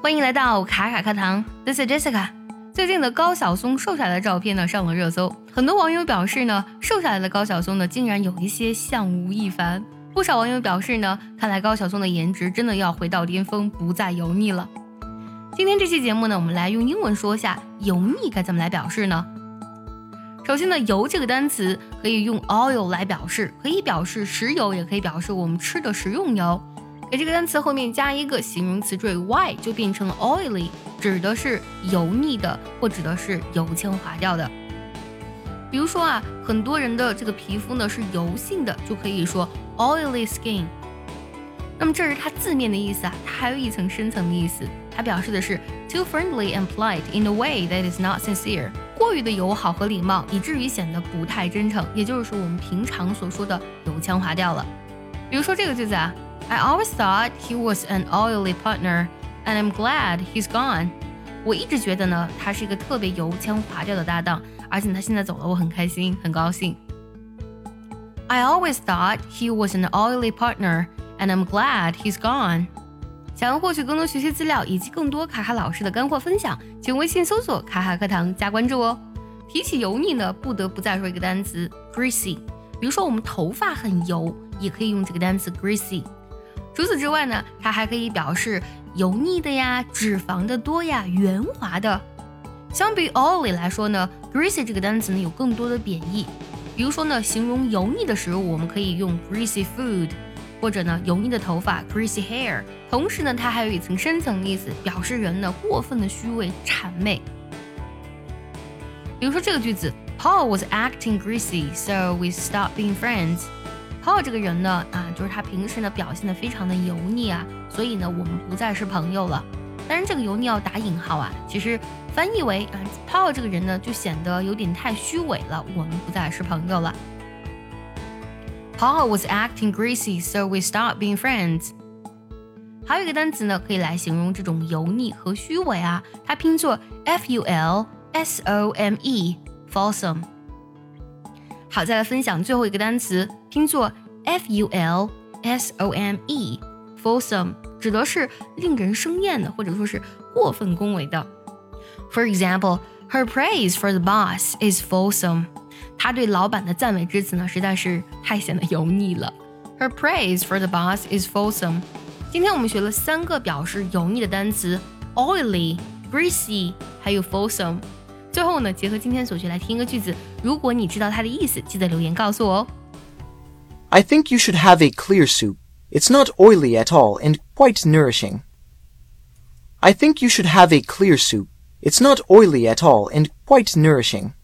欢迎来到卡卡课堂 This is Jessica。 最近的高晓松瘦下来的照片呢上了热搜，很多网友表示呢，瘦下来的高晓松呢竟然有一些像吴亦凡。不少网友表示呢，看来高晓松的颜值真的要回到巅峰，不再油腻了。今天这期节目呢，我们来用英文说下油腻该怎么来表示呢？首先呢，油这个单词可以用 oil 来表示，可以表示食油，也可以表示我们吃的食用油。给这个单词后面加一个形容词缀 y 就变成了 oily， 指的是油腻的或指的是油腔滑调的。比如说啊，很多人的这个皮肤呢是油性的，就可以说 oily skin。 那么这是它字面的意思啊，它还有一层深层的意思，它表示的是 too friendly and polite in a way that is not sincere， 过于的友好和礼貌，以至于显得不太真诚，也就是我们平常所说的油腔滑调了。比如说这个句子啊， I always thought he was an oily partner and I'm glad he's gone。 我一直觉得呢，他是一个特别油腔滑调的搭档，而且他现在走了，我很开心，很高兴。 I always thought he was an oily partner and I'm glad he's gone。 想要获取更多学习资料以及更多卡卡老师的干货分享，请微信搜索卡卡课堂加关注哦。提起油腻呢，不得不再说一个单词 greasy。 比如说我们头发很油，也可以用这个单词 greasy。 除此之外呢，它还可以表示油腻的呀，脂肪的多呀，圆滑的。相比 oily 来说呢， greasy 这个单词呢有更多的贬义。比如说呢，形容油腻的食物，我们可以用 greasy food， 或者呢油腻的头发 greasy hair。 同时呢，它还有一层深层的意思，表示人呢过分的虚伪谄媚。比如说这个句子， Paul was acting greasy so we stopped being friends。 Paul 这个人呢就是他平时呢表现得非常的油腻啊，所以呢我们不再是朋友了。当然这个油腻要打引号啊，其实翻译为Paul 这个人呢就显得有点太虚伪了，我们不再是朋友了。 Paul was acting greasy so we stopped being friends。 还有一个单词呢可以来形容这种油腻和虚伪啊，它拼作 fulsome fulsome。 好，再来分享最后一个单词，拼作 fulsome fulsome， 指的是令人生厌的，或者说是过分恭维的。 For example, her praise for the boss is fulsome。 她对老板的赞美之词呢实在是太显得油腻了。 Her praise for the boss is fulsome。 今天我们学了3个表示油腻的单词 oily greasy 还有 fulsome。 最后呢，结合今天所学来听一个句子，如果你知道它的意思，记得留言告诉我哦。 I think you should have a clear soup. It's not oily at all and quite nourishing. I think you should have a clear soup. It's not oily at all and quite nourishing.